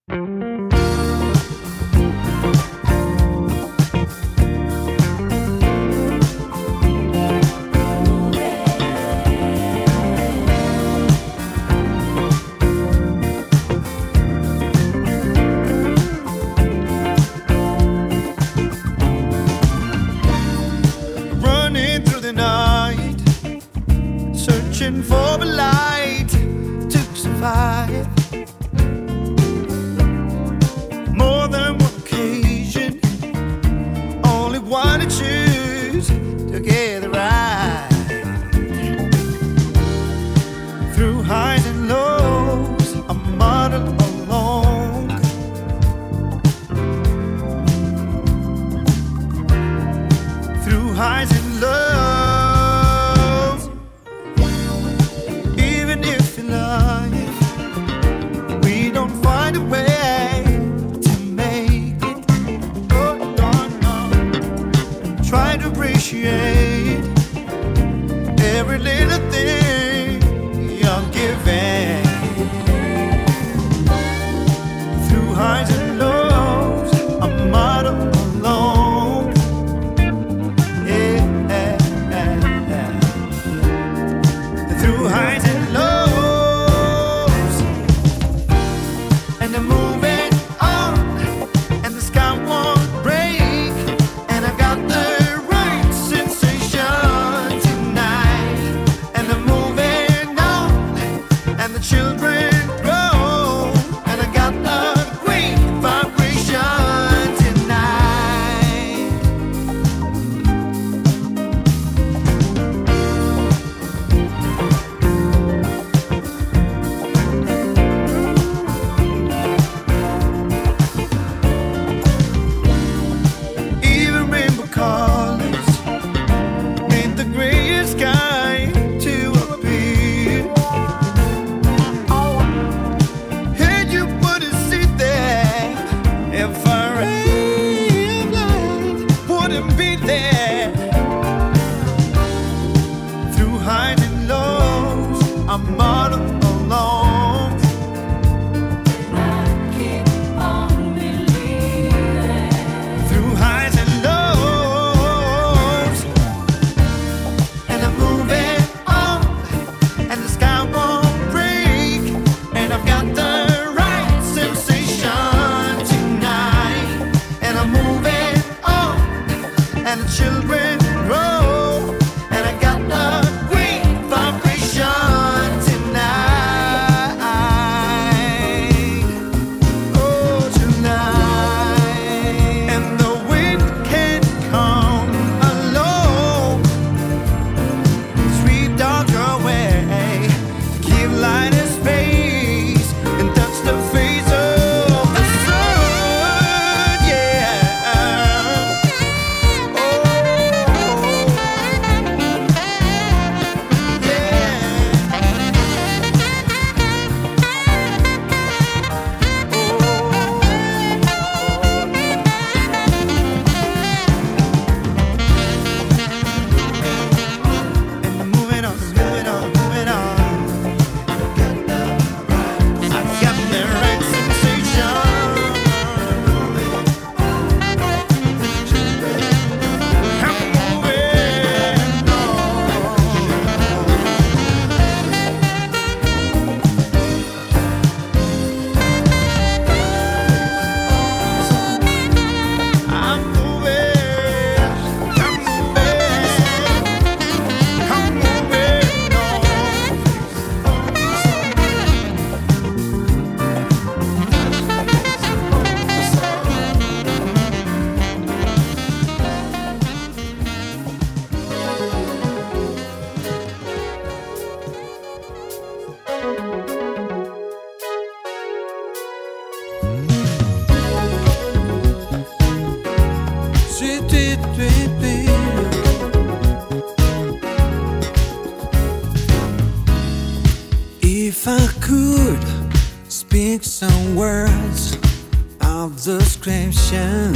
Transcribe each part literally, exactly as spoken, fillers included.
Running through the night, searching for the light to survive. More than one occasion, only one to choose to get it right. Through highs and lows, I'm muddled along. Through highs and lows, even if in life we don't find a way to make it, oh no, no. Try to appreciate every little thing you're giving. Through highs and lows, I'm muddled along. Yeah, yeah, yeah. Through highs and lows, and I'm moving on, and the sky won't break, and I've got the right sensation tonight. And I'm moving on, and the children grow, and I got a great vibration tonight. Even rainbow colors in the gray sky to appear. And you wouldn't sit there if a ray of light wouldn't be there. Through highs and lows, I'm muddled along. Through highs and lows, and I'm moving on, and the sky won't break, and I've got the right sensation tonight. And I'm moving on, and the children grow, and I got the great vibration tonight. Oh, tonight. And the wind can come alone, sweet dog away, to give light and space, and touch the face of the sun, yeah. Oh, and I'm moving on, moving on, moving on. I've got the right sensation. I'm moving on. I'm moving, I'm moving, I'm moving on. Sweet, sweet, sweet, sweet. If I could speak some words of description,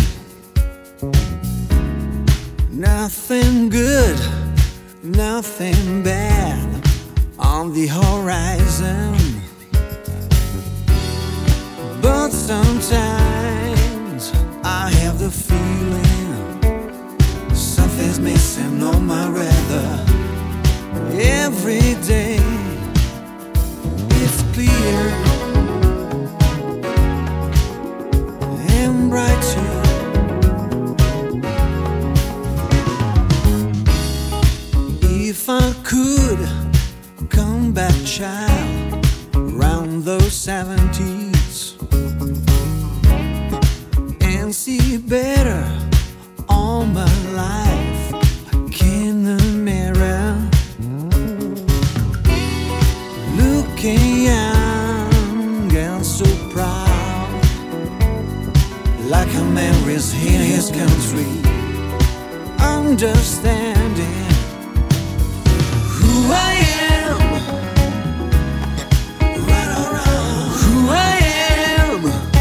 nothing good, nothing bad on the horizon. But sometimes I have the feeling something's missing on my weather. Every day it's clear and bright too. If I could come back, child, around those seventies and see better all my life, like in the mirror, looking young and so proud, like a man is in his country, understanding who I am, right around who I am.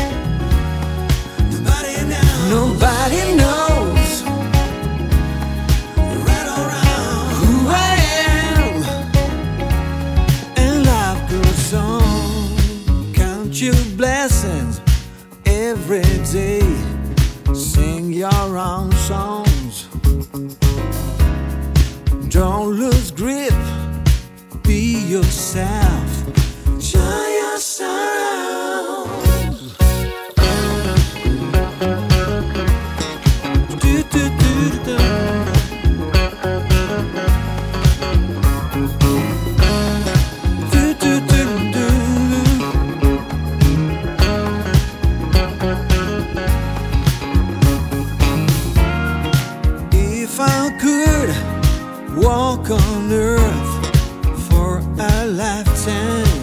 Nobody knows, nobody knows, right around who I am. And life goes on. Count your blessings every day. Sing your own songs. Don't lose grip. Be yourself. Show yourself. Do, do, do, do. Do, do, do, do. If I could walk on earth for a lifetime,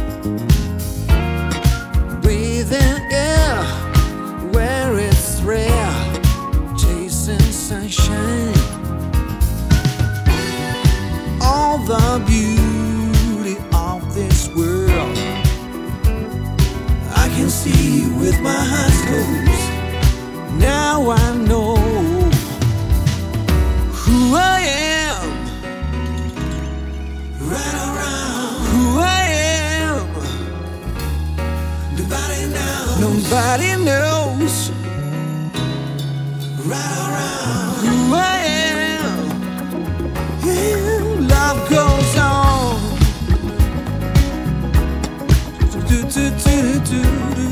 breathing air where it's rare, chasing sunshine, all the beauty of this world I can see with my eyes closed. Now I know who I am, right around who I am. Nobody knows, nobody knows, right around who I am. Yeah, love goes on. Do, do, do, do, do.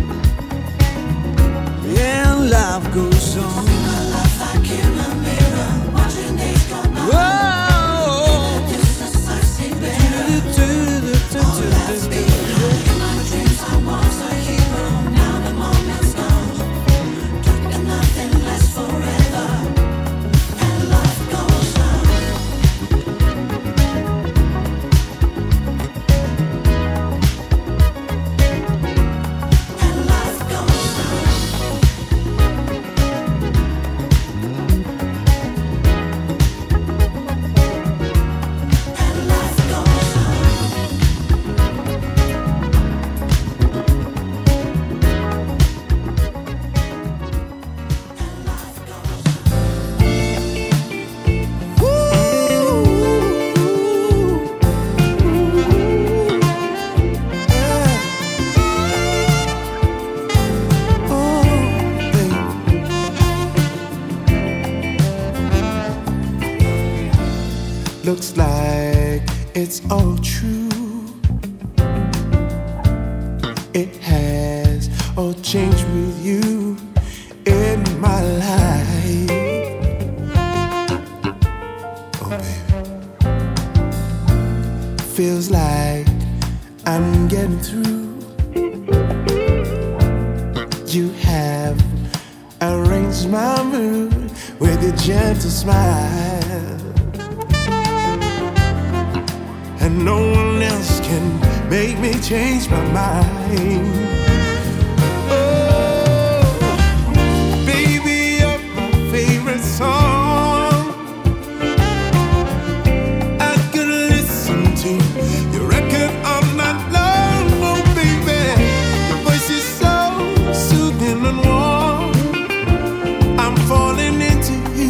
Yeah, love goes on. My life like in a mirror, watching days go by. Whoa. In the distance I see better. All that's behind. In my dreams I was a hero. Now the moment's gone, and nothing lasts forever. And life goes on. And life goes on. And life goes on. Looks like it's all true. It has all changed with you in my life. Oh, baby. Feels like I'm getting through. You have arranged my mood with your gentle smile. And no one else can make me change my mind. Oh, baby, you're my favorite song. I could listen to your record all night long. Oh, baby, your voice is so soothing and warm. I'm falling into you.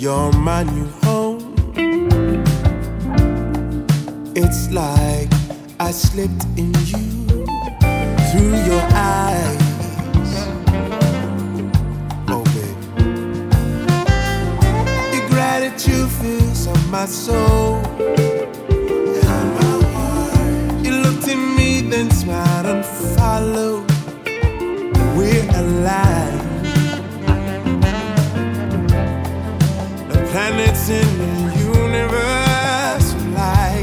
you're my new home. It's like I slipped in you through your eyes. Oh, baby. Your gratitude fills up my soul and my heart. You looked at me, then smiled and followed. We're alive. The planets in the universe fly.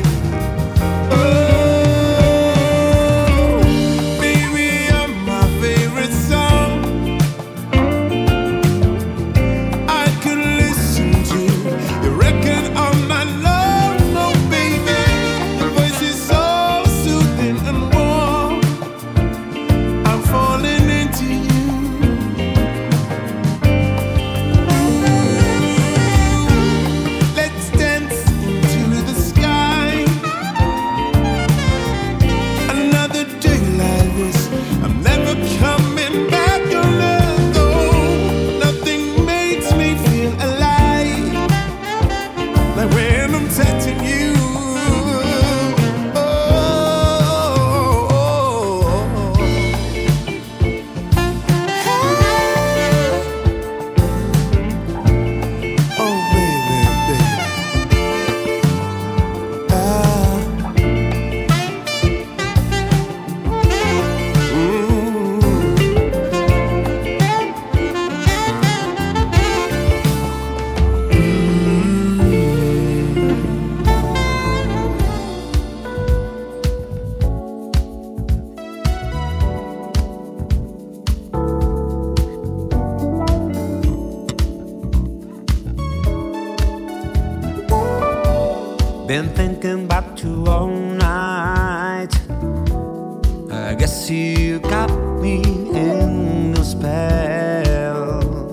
Been thinking about you all night. I guess you got me in your spell.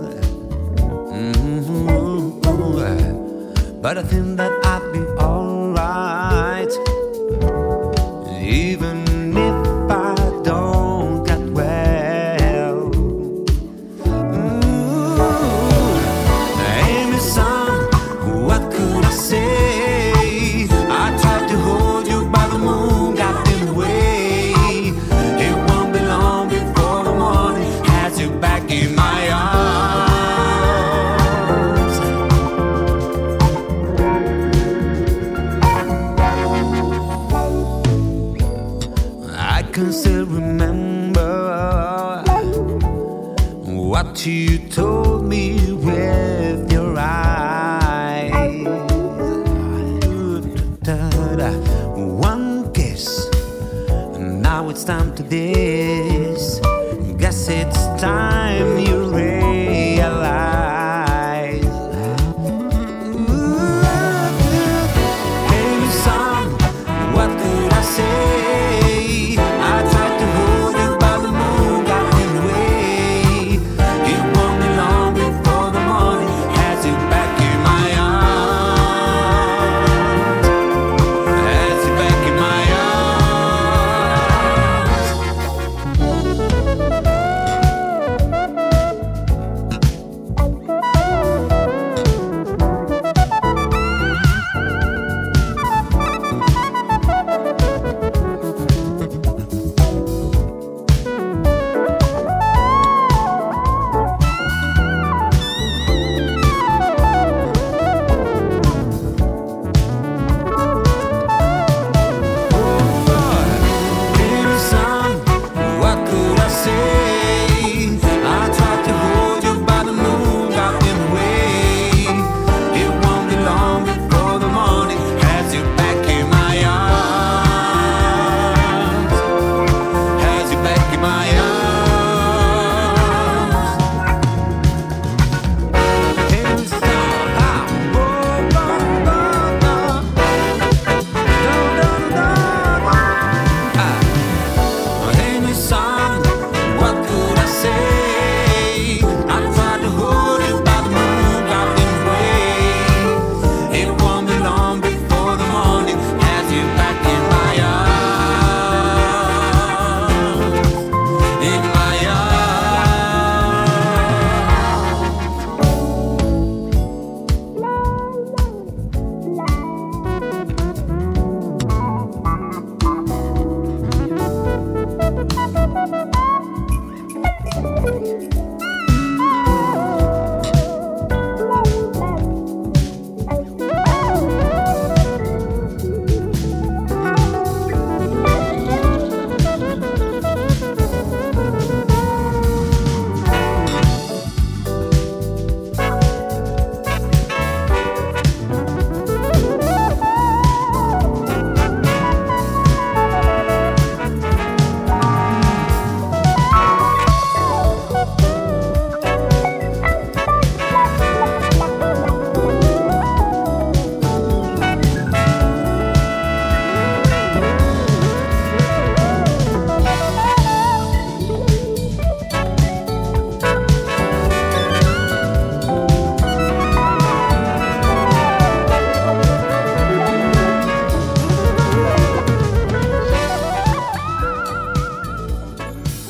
Mm-hmm. But I think that I'd be alright, even if I don't get well. Mm-hmm. Amy, son, what could I say? I can still remember what you told me with your eyes. One kiss, now it's time to this. Guess it's time you realize. Hey, son, what could I say?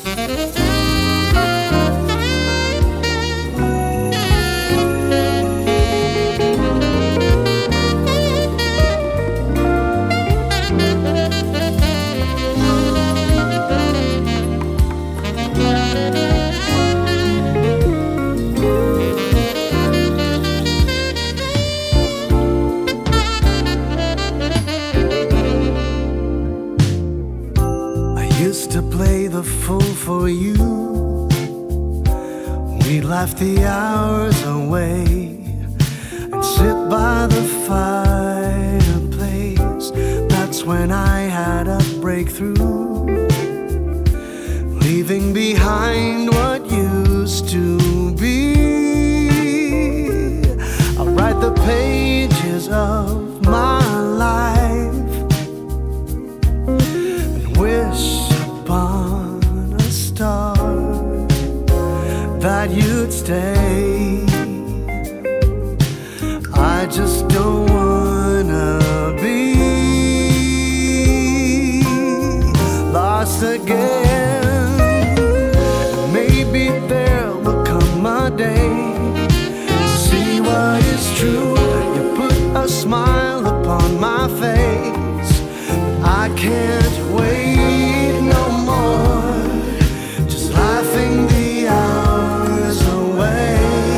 For you, we laughed the hours away and sit by the fireplace. That's when I had a breakthrough, leaving behind what used to be. I'll write the pages of my life and wish upon that you'd stay. I just don't wanna be lost again. Maybe there will come a day to see what is true. You put a smile upon my face, but I can't wait no more. Just laughing the hours away.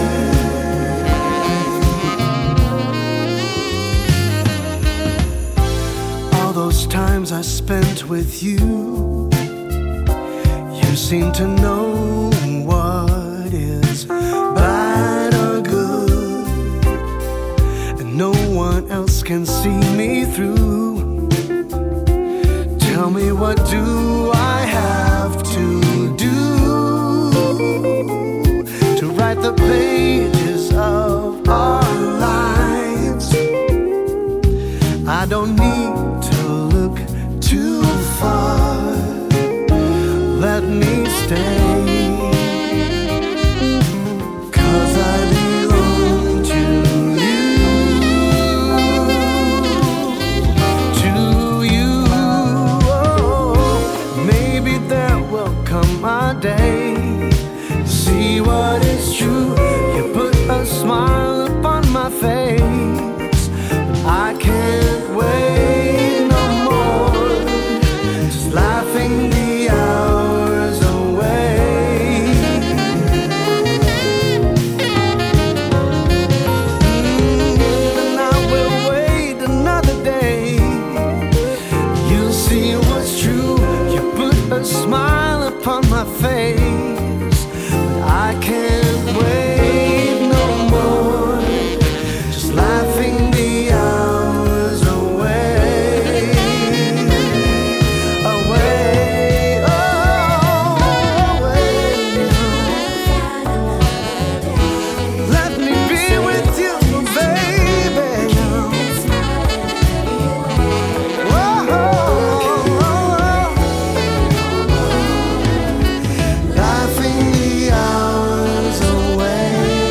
All those times I spent with you, you seem to know what is bad or good, and no one else can see me through. Tell me, what do I have to do to write the pages of our lives? I don't need to look too far. Let me stay, 'cause I belong to you, to you. Oh, maybe there will come a day to see what is true. You put a smile upon my face, but I can't wait no more. Just laughing the hours away. Mm, and I will wait another day. You'll see what's true. You put a smile upon my face, but I can't wait no more. Just laughing the hours away, away, oh, away. Let me be with you, baby. Whoa, laughing the hours away.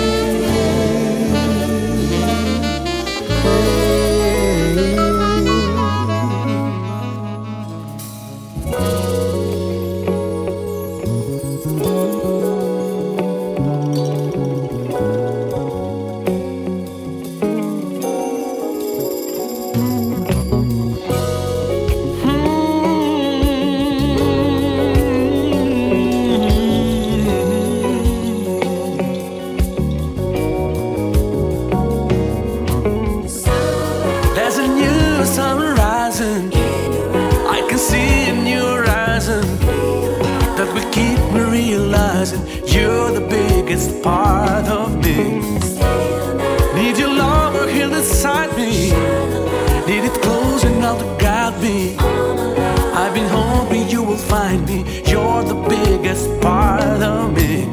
There's a new sun rising. I can see in your eyes, and that will keep me realizing you're the biggest part of me. Need your love here beside me. Need it close enough to guide me. I've been hoping you will find me. You're the biggest part of me.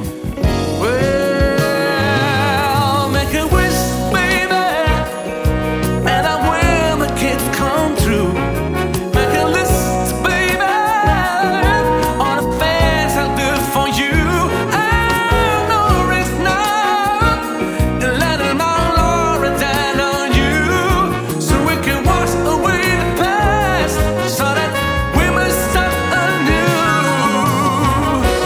Well, make a wish, baby, and I will make it come true. Make a list, baby, on the things I'll do for you. I know it's not letting my glory down on you, so we can wash away the past, so that we may start anew.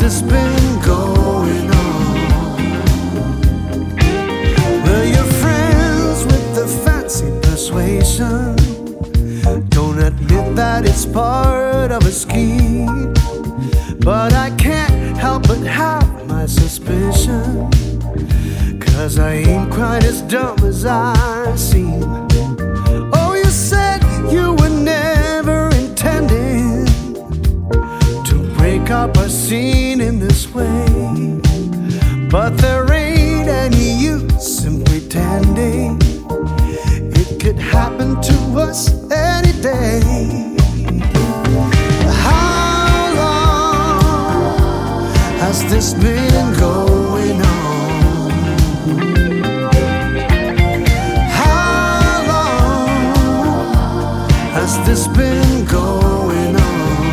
this been going on? Well, you're friends with the fancy persuasion. Don't admit that it's part of a scheme, but I can't help but have my suspicion, 'cause I ain't quite as dumb as I seem. Oh, you said you were never intending to break up a scene in this way, but there ain't any use in pretending. It could happen to us any day. How long has this been going on? How long has this been going on?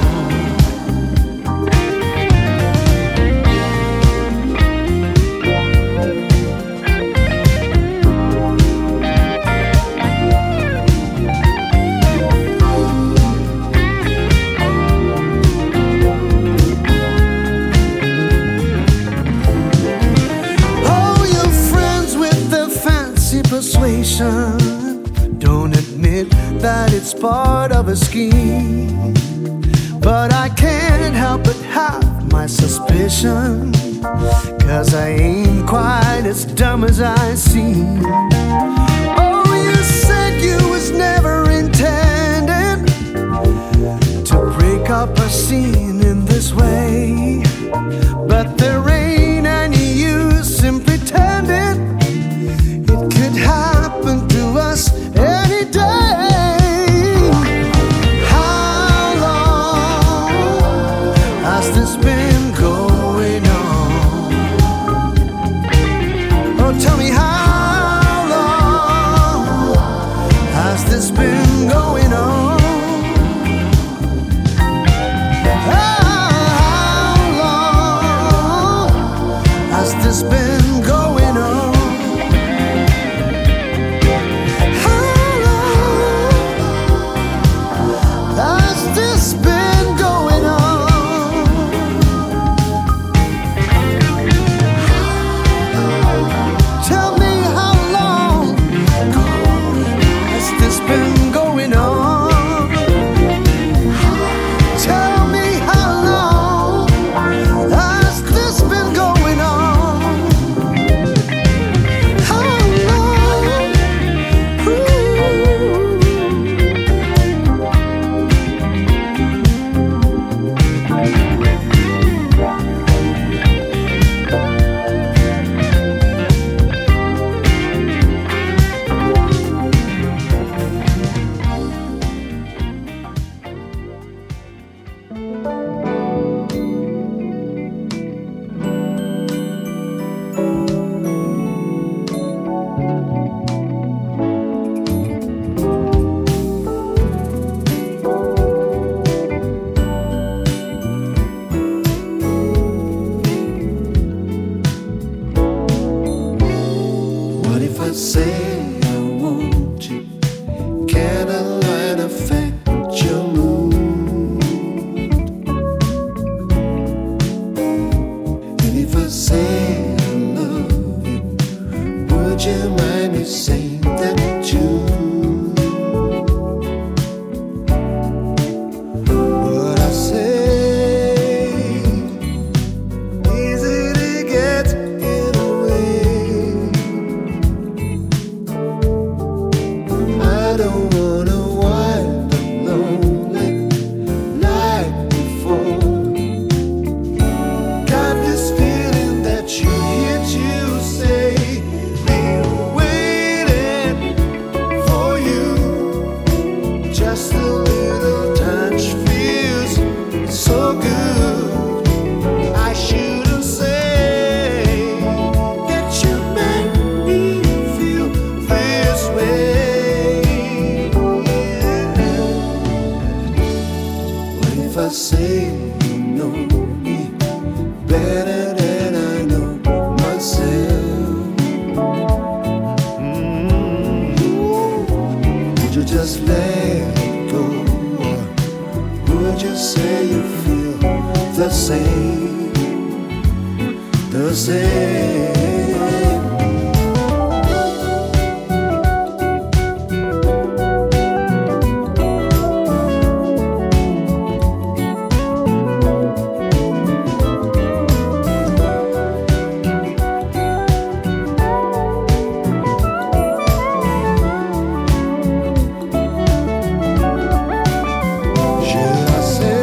Persuasion. Don't admit that it's part of a scheme, but I can't help but have my suspicion, 'cause I ain't quite as dumb as I seem. Oh, you said you was never intended to break up a scene in this way, but there ain't any use in pretending. It could happen to us any day. How long has this been going on? Oh, tell me, how long has this been going on? How long has this been going on? Say, be waiting. the same.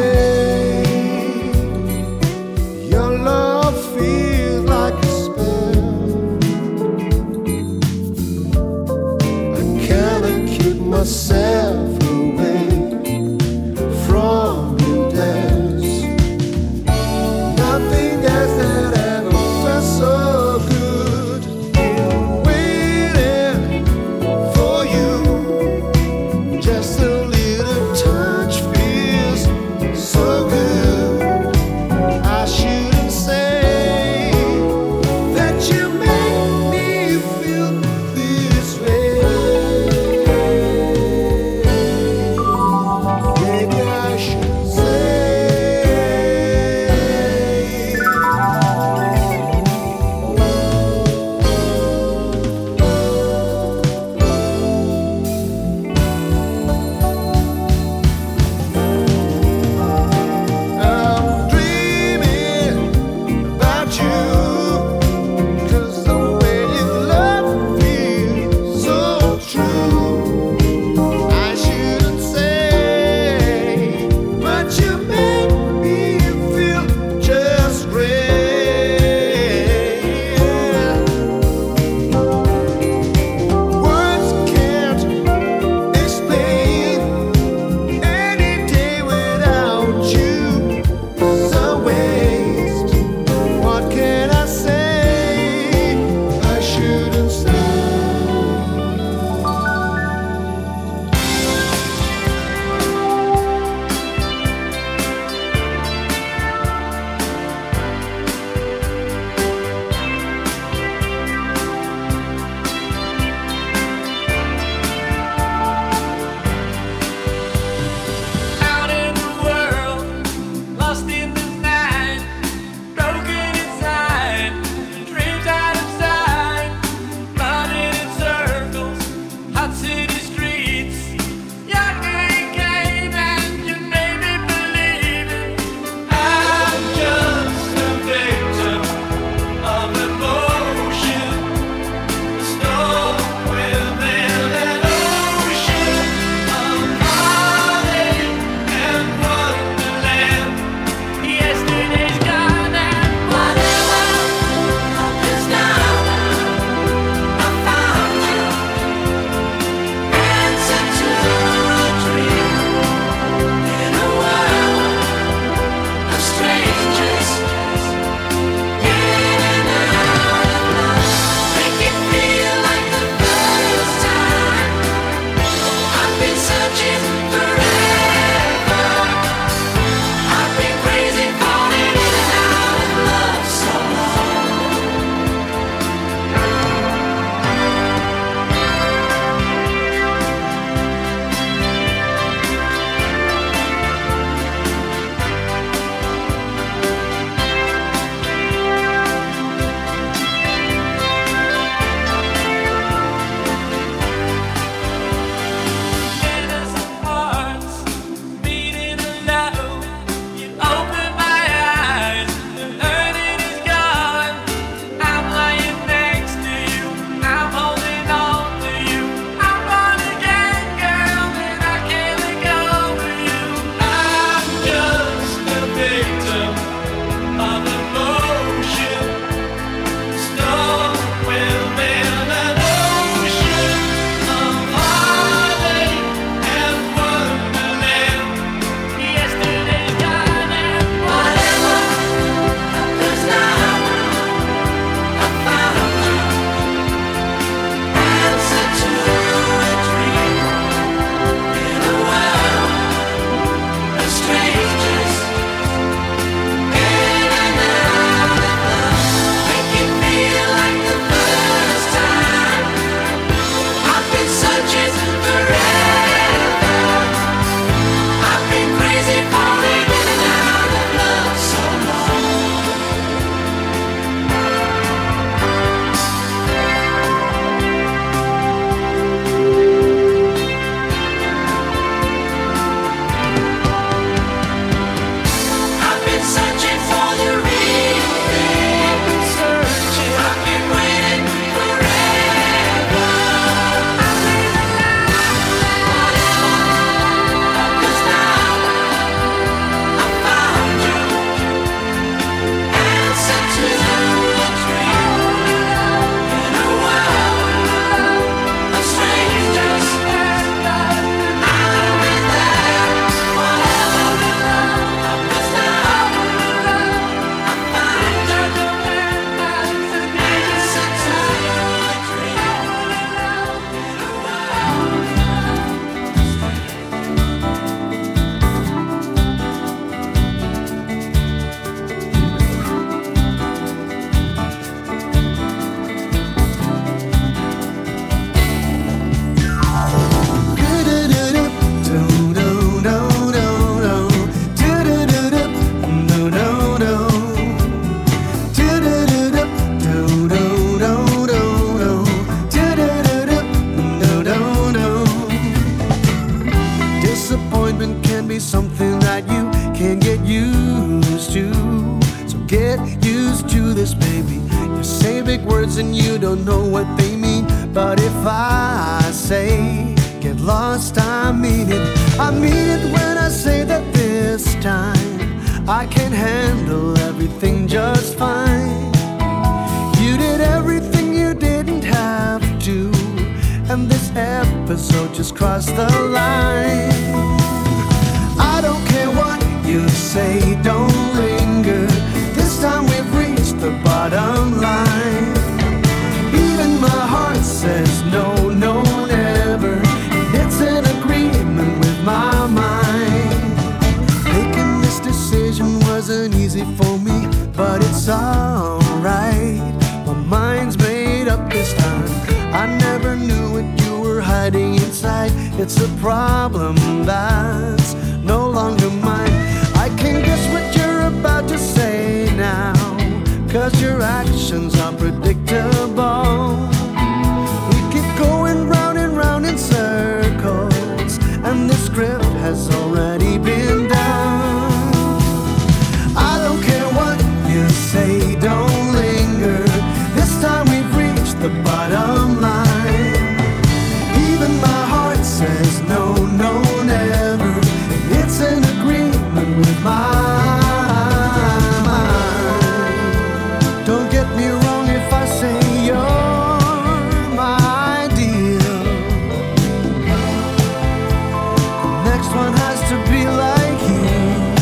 Your love feels like a spell. this, baby. You say big words and you don't know what they mean. But if I say get lost, I mean it. I mean it when I say that this time I can handle everything just fine. You did everything you didn't have to, and this episode just crossed the line. I don't care what you say, don't linger. This time we've reached the bottom line. Even my heart says no, no, never. It's an agreement with my mind. Making this decision wasn't easy for me, but it's alright. My mind's made up this time. I never knew what you were hiding inside. It's a problem that's no longer mine. I can guess what you're about to say now, 'cause your actions are predictable. We keep going round and round in circles, and this script has already been done. I don't care what you say, don't linger. This time we've reached the bottom line. Even my heart says no, no, never. It's an agreement with my mind. Don't get me wrong if I say you're my ideal. The next one has to be like you.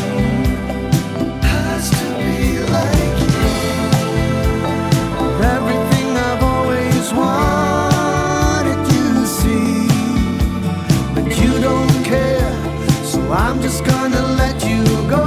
Has to be like you. Everything I've always wanted you to see, but you don't care, so I'm just gonna let you go.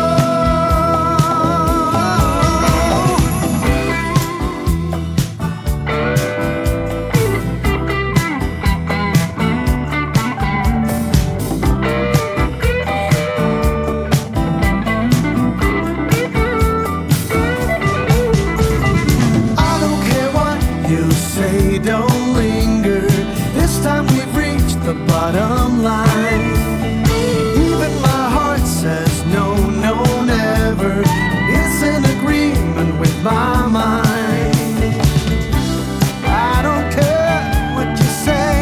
I don't care what you say, don't linger. This time we've reached the bottom line. Even my heart says no, no, never. It's an agreement with my mind. I don't care what you say.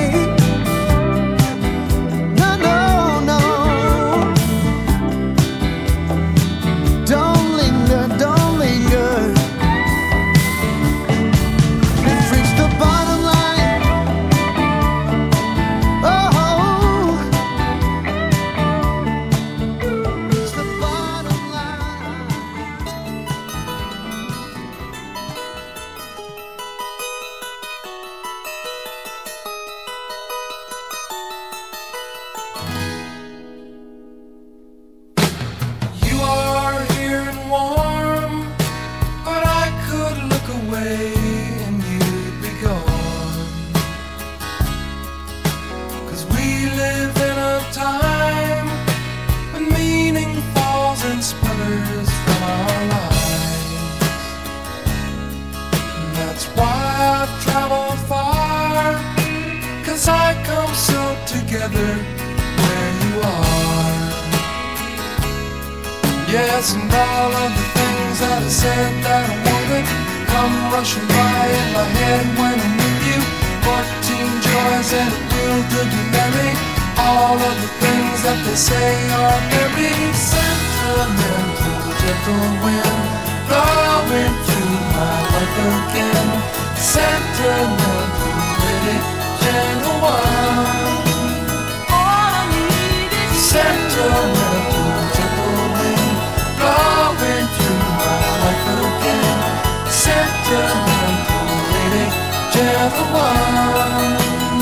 No, no, no. Don't linger, don't linger. We've reached the bottom line. Oh, reached the bottom line. You are here and warm, but I could look away and you'd be gone. 'Cause we live in a time when meaning falls in splinters from our lives. And that's why I've traveled far, 'cause I come so together where you are. Yes, and all of the things that I said that I wanted come rushing by in my head when I'm with you. Fourteen joys and a will to be merry. All of the things that they say are very sentimental. Gentle wind blowing through my life again. Sentimental, pretty gentle one. All I need is sentimental, gentle wind blowing through my life again. Sentimental, lady, gentle one.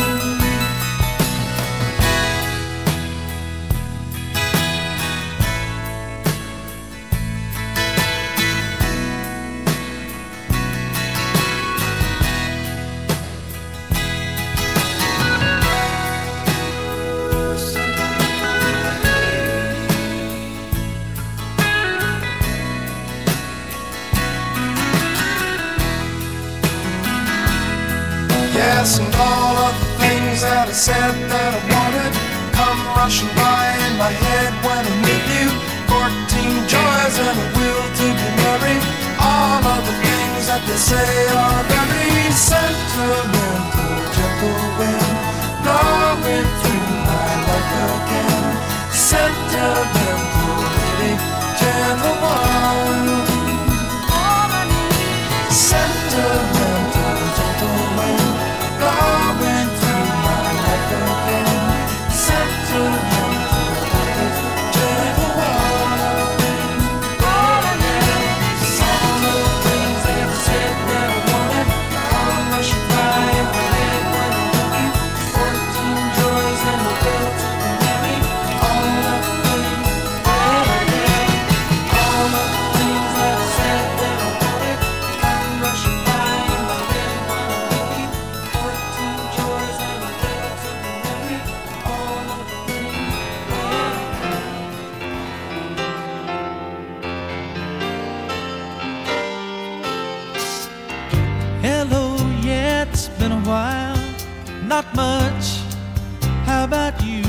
Yes, and all of the things that I said that I wanted come rushing by in my head when I'm with you. Fourteen joys and a will to be merry. All of the things They say you're very sentimental, gentle wind blowing through my life again. Sentimental lady, gentle one. Sentimental, gentle wind blowing through my life again. Sentimental lady, gentle one. All the things that I said that I wanted, all rushing by in my head when I love you. Fourteen joys and a bill to be married. All the things, all the things that I said that I wanted, come rushing by in my head when I love you. Fourteen joys and a bill to be married. All the things. Hello, yeah, it's been a while. Not much. How about you?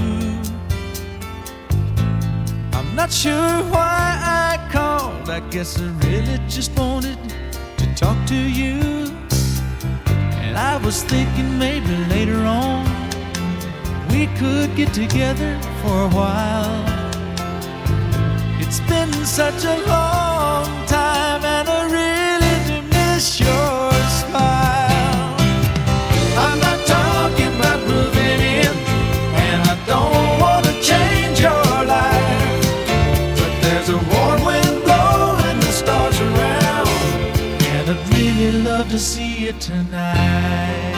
I'm not sure why I called. I guess I really just wanted to talk to you. And I was thinking maybe later on we could get together for a while. It's been such a long time and I really do miss your smile. I'm not talking about moving in, and I don't want to change your life, but there's a warm wind blowing the stars around, and I'd really love to see you tonight.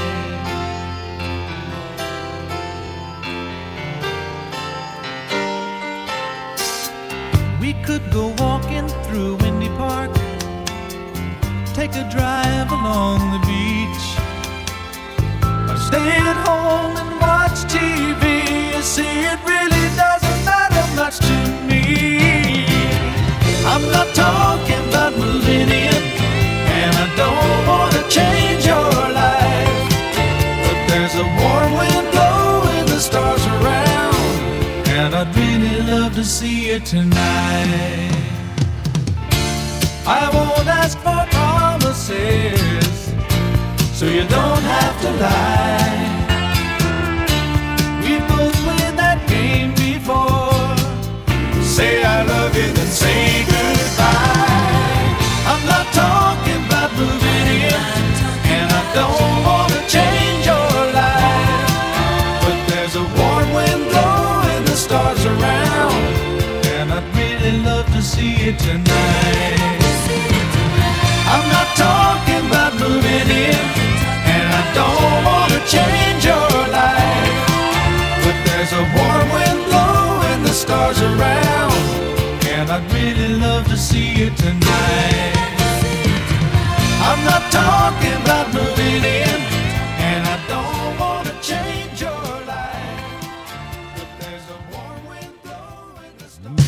We could go walking through Windy Park, take a drive along the beach, or stay at home and watch T V. You see, it really doesn't matter much to me. I'm not talking about moving in, and I don't want to change your life, but there's a warm wind blowing the stars around, and I'd really love to see you tonight. I won't ask for promises, so you don't have to lie. We both played that game before. Say I love you, then say goodbye. I'm not talking about moving in, and I don't want to change your life, but there's a warm wind blowing the stars around, and I'd really love to see you tonight. I'm not talking about moving in, and I don't want to change your life, but there's a warm wind blowing the stars around, and I'd really love to see you tonight. I'm not talking about moving in, and I don't want to change your life, but there's a warm wind blowing the stars.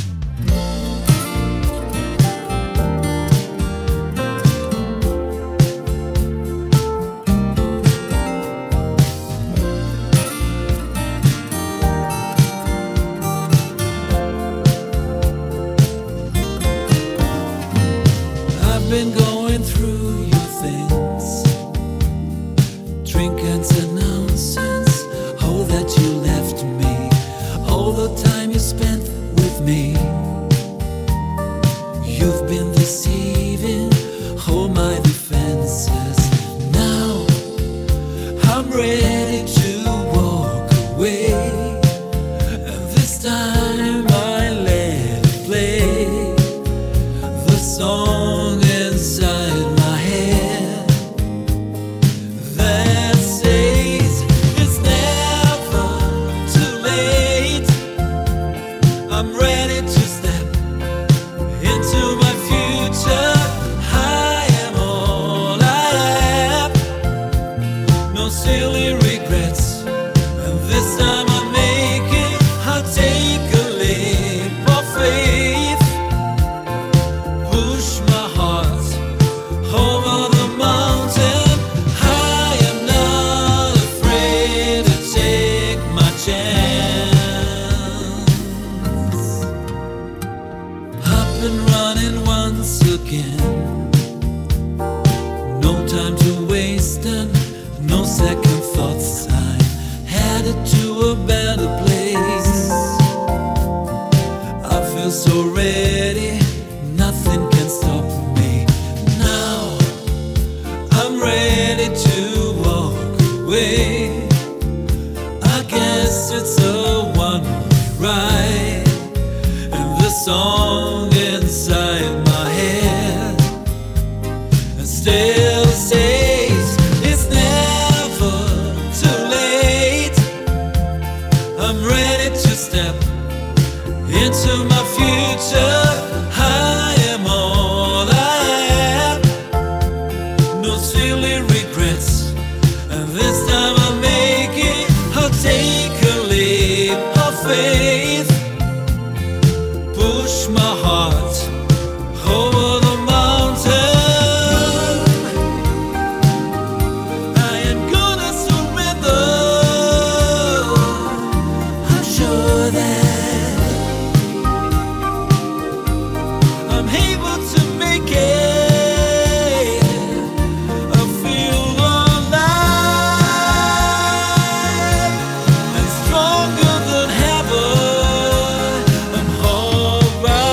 I've been going through your things, time to waste and no second thoughts. I'm headed to a better place. I feel so ready, nothing can stop me. Now I'm ready to walk away. I guess it's a one-way ride, and the song inside my head still says it's never too late. I'm ready to step into my future. I am all I have, no silly regrets, and this time I'll make it. I'll take a leap of faith, push my heart over the mountain. I am gonna surrender. I'm sure that I'm able to make it. I feel alive and stronger than ever. I'm alright.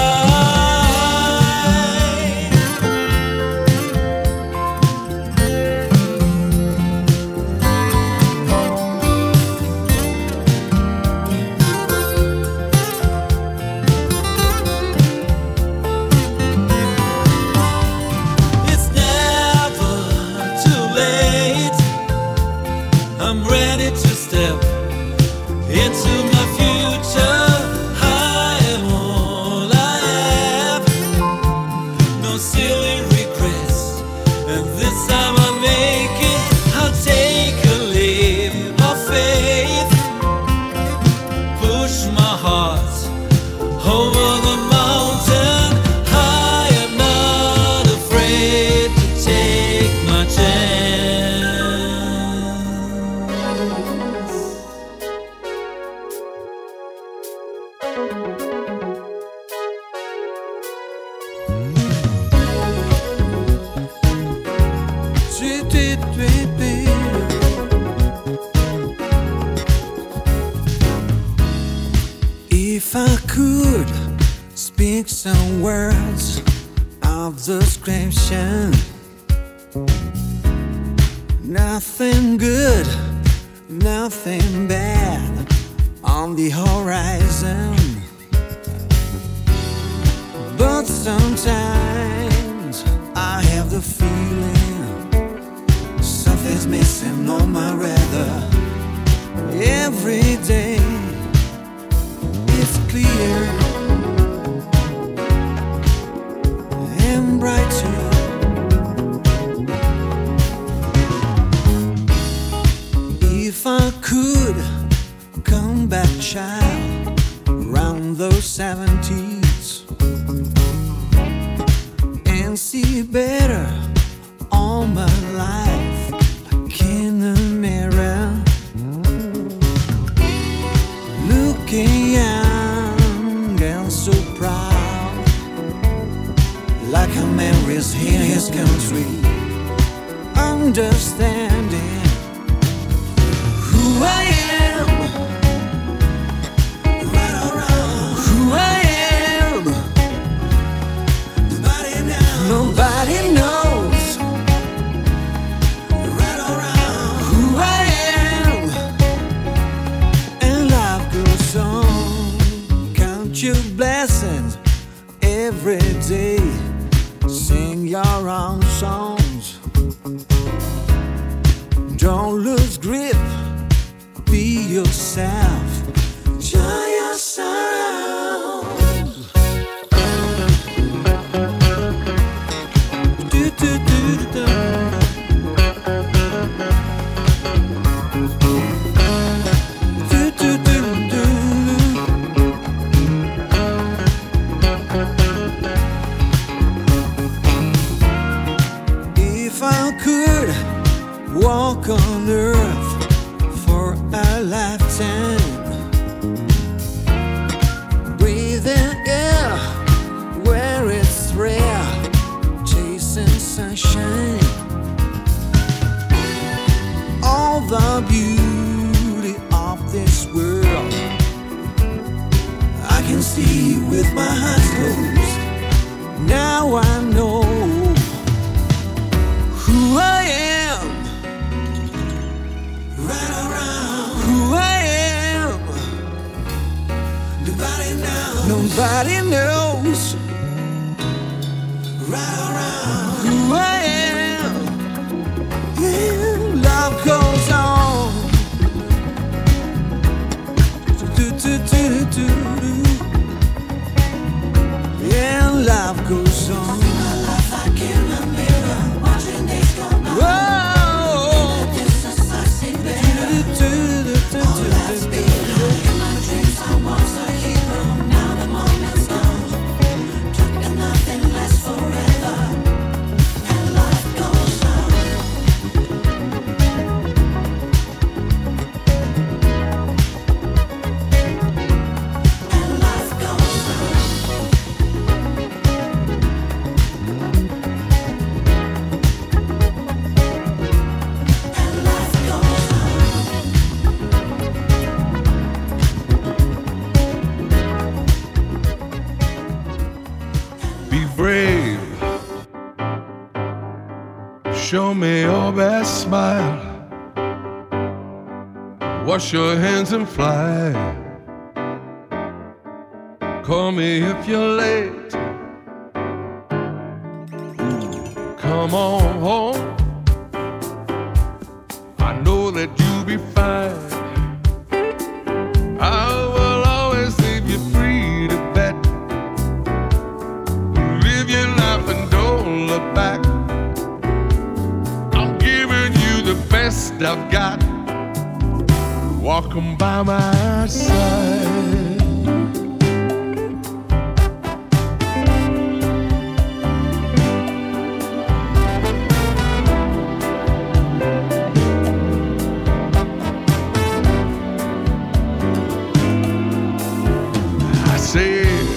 It's never too late. I'm ready to step into my future. I am all I have, no silly regrets, and this time I make it. I'll take a leap of faith, push my heart over the mountain. I am not afraid to take my chance. If I could speak some words of description, nothing good, nothing bad on the horizon. But sometimes I have the feeling something's missing on my radar. Every day it's clear and bright too. If I could come back, child, around those seventies and see better all my life, like in a mirror, looking young and so proud, like a man is in his country, understanding who I am, right or wrong, who I am. Nobody knows, nobody knows, right or wrong, who I am. And life goes on. Count your blessings every day. Sing your own songs. Don't lose grip. Be yourself. Enjoy yourself. Do, do, do, do, do. Do, do, do, do. If I could walk on earth for a lifetime, breathing air where it's rare, chasing sunshine, the beauty of this world. I can see with my eyes closed. Now I know who I am. Right around who I am. Nobody knows. Nobody knows. Right around who I am. Yeah, love goes on. Do, do, do, do, do. Yeah, love goes on. My life like in a mirror, watching days go by. Whoa. In the distance I see better. All that's behind. In my dreams I was a hero. Now the moment's gone. And nothing lasts forever. And life goes on. And life goes on. And life goes on. Be brave. Show me your best smile. Wash your hands and fly. Call me if you're late. Come on home. I know that you'll be fine. I will always leave you free to bet. Live your life and don't look back. I'm giving you the best I've got. Walk 'em by my side. I said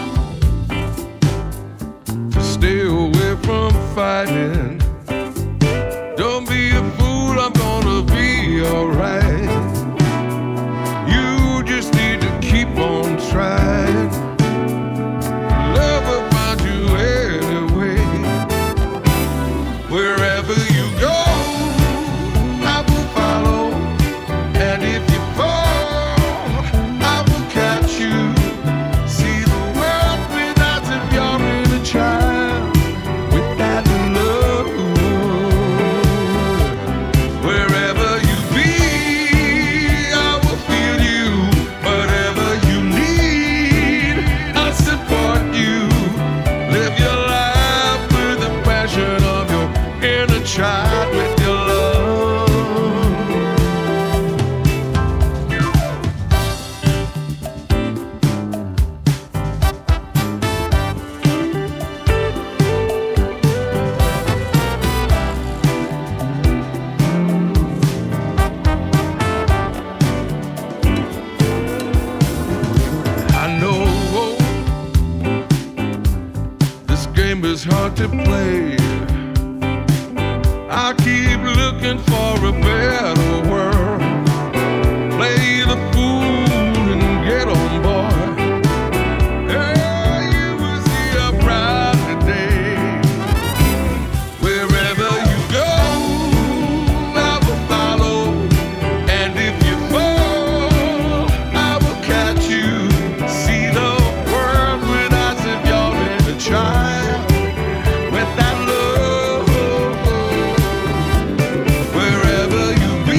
to stay away from fighting. Don't be a fool, I'm gonna be alright. You just need to keep on trying. Love will find you anyway. Wherever you go, I will follow. And if you fall, I will catch you. See the world without if you're in a child. With that love. Wherever you be, I will feel you. Whatever you need, I'll support you. Live your life with the passion of your inner child with your love. I know this game is hard to play. I keep looking for a better world. Play the fool and get on board. Hey, you will see a brighter day. Wherever you go, I will follow. And if you fall, I will catch you. See the world with eyes if you're in a child. With that love, wherever you be,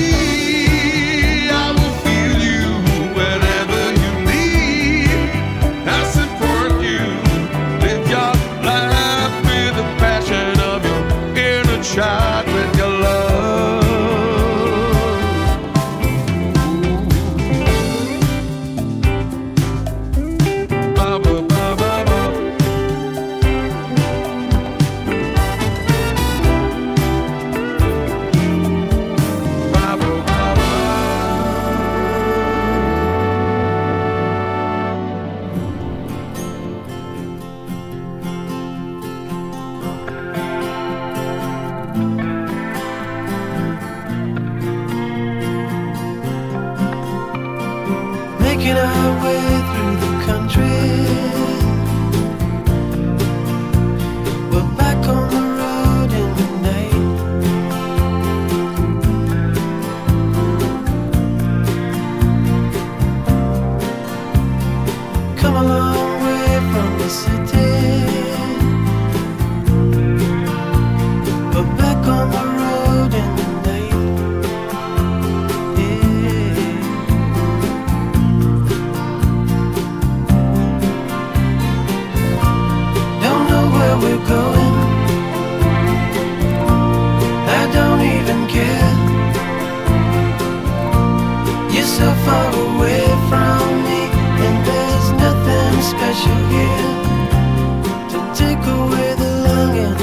on the road in the night. Yeah. Don't know where we're going. I don't even care. You're so far away from me, and there's nothing special here to take away the longing.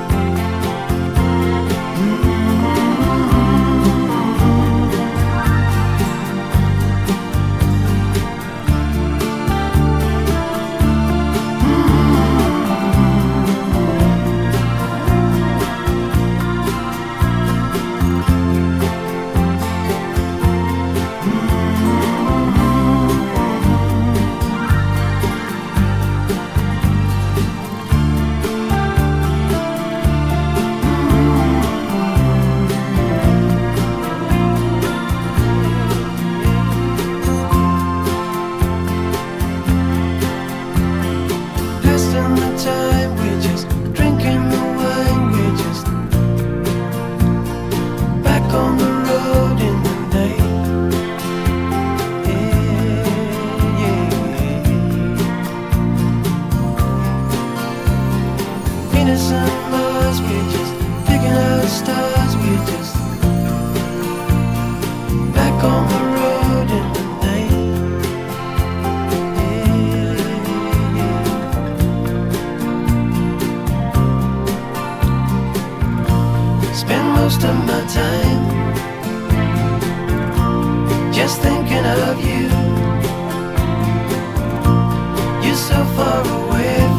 Passing the time, we're just drinking the wine, we're just back on the road in the night. Yeah, yeah. Venus and Mars, we're just picking out stars, we're just back on the road in the night. Yeah, yeah. Spend most of my time just thinking of you. You're so far away